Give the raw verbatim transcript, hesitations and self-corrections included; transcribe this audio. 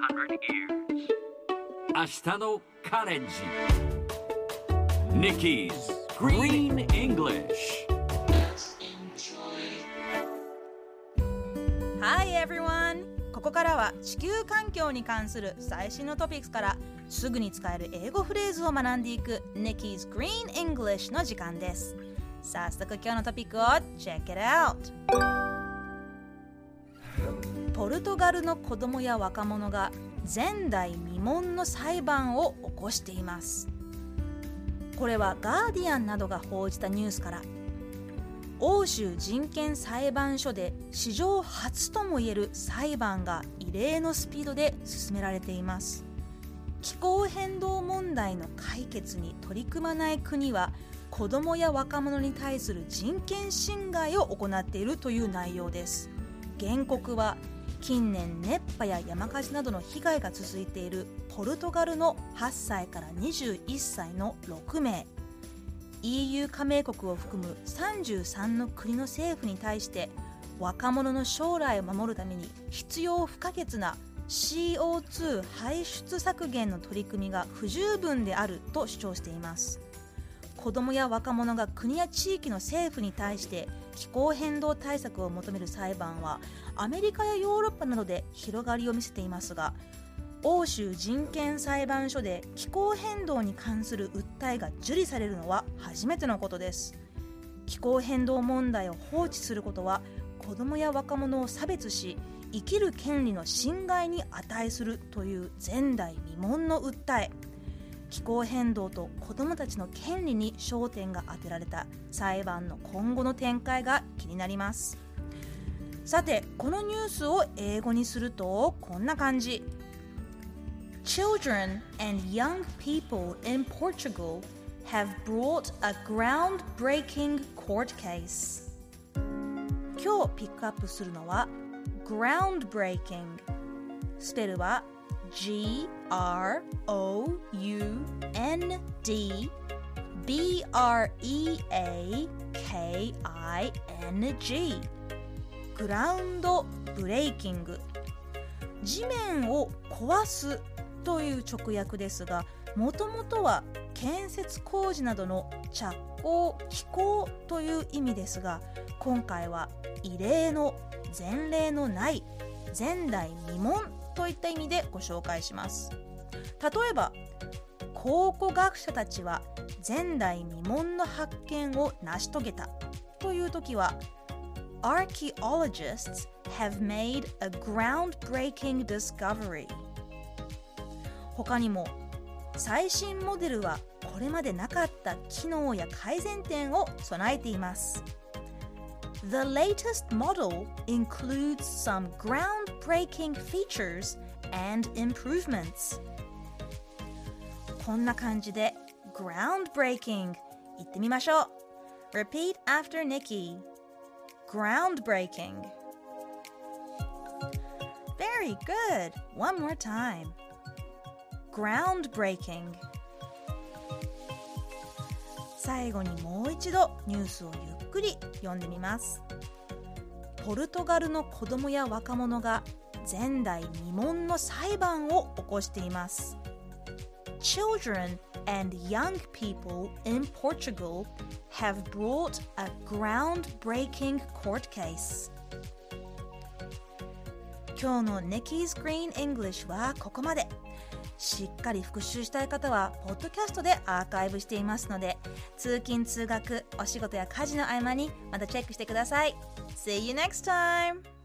明日のカレンジ Nikki's Green English Hi everyone! ここからは地球環境に関する最新のトピックスからすぐに使える英語フレーズを学んでいく Nikki's Green English の時間です。早速今日のトピックを Check it out! ポルトガルの子供や若者が前代未聞の裁判を起こしています。これはガーディアンなどが報じたニュースから欧州人権裁判所で史上初ともいえる裁判が異例のスピードで進められています。気候変動問題の解決に取り組まない国は子どもや若者に対する人権侵害を行っているという内容です。原告は近年熱波や山火事などの被害が続いているポルトガルのはっさいからにじゅういっさいのろくめい イーユー 加盟国を含むさんじゅうさんの国の政府に対して若者の将来を守るために必要不可欠な シーオーツー 排出削減の取り組みが不十分であると主張しています。子どもや若者が国や地域の政府に対して気候変動対策を求める裁判はアメリカやヨーロッパなどで広がりを見せていますが、欧州人権裁判所で気候変動に関する訴えが受理されるのは初めてのことです。気候変動問題を放置することは子どもや若者を差別し生きる権利の侵害に値するという前代未聞の訴え。気候変動と子どもたちの権利に焦点が当てられた裁判の今後の展開が気になります。さて、このニュースを英語にするとこんな感じ。Children and young people in Portugal have brought a groundbreaking court case. 今日ピックアップするのは groundbreaking。スペルは G R O U N D B R E A K I N G グラウンドブレイキング、地面を壊すという直訳ですが、もともとは建設工事などの着工・起工という意味ですが、今回は異例の、前例のない、前代未聞といった意味でご紹介します。例えば、考古学者たちは前代未聞の発見を成し遂げたというときは、Archaeologists have made a groundbreaking discovery。他にも、最新モデルはこれまでなかった機能や改善点を備えています。The latest model includes some groundbreaking features and improvements. こんな感じで groundbreaking 言ってみましょう。Repeat after Nikki. Groundbreaking. Very good. One more time. Groundbreaking. 最後にもう一度ニュースをゆっくり読んでみます。ポルトガルの子供や若者が前代未聞の裁判を起こしています。Children and young people in Portugal have brought a groundbreaking court case. 今日の Nikki's Green English はここまで。しっかり復習したい方はポッドキャストでアーカイブしていますので、通勤通学、お仕事や家事の合間にまたチェックしてください。See you next time!